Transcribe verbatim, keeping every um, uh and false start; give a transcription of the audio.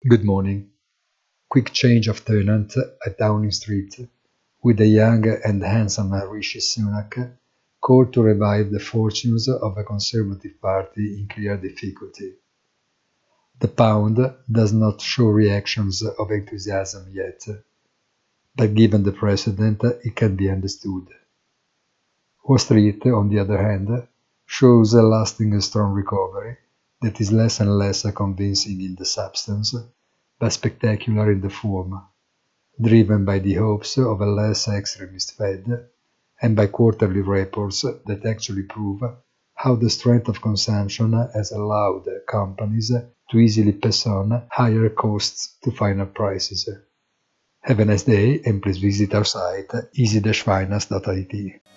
Good morning. Quick change of tenant at Downing Street, with the young and handsome Rishi Sunak called to revive the fortunes of a Conservative Party in clear difficulty. The pound does not show reactions of enthusiasm yet, but given the precedent, it can be understood. Wall Street, on the other hand, shows a lasting strong recovery that is less and less convincing in the substance, but spectacular in the form, driven by the hopes of a less extremist Fed and by quarterly reports that actually prove how the strength of consumption has allowed companies to easily pass on higher costs to final prices. Have a nice day and please visit our site easy dash finance dot I T.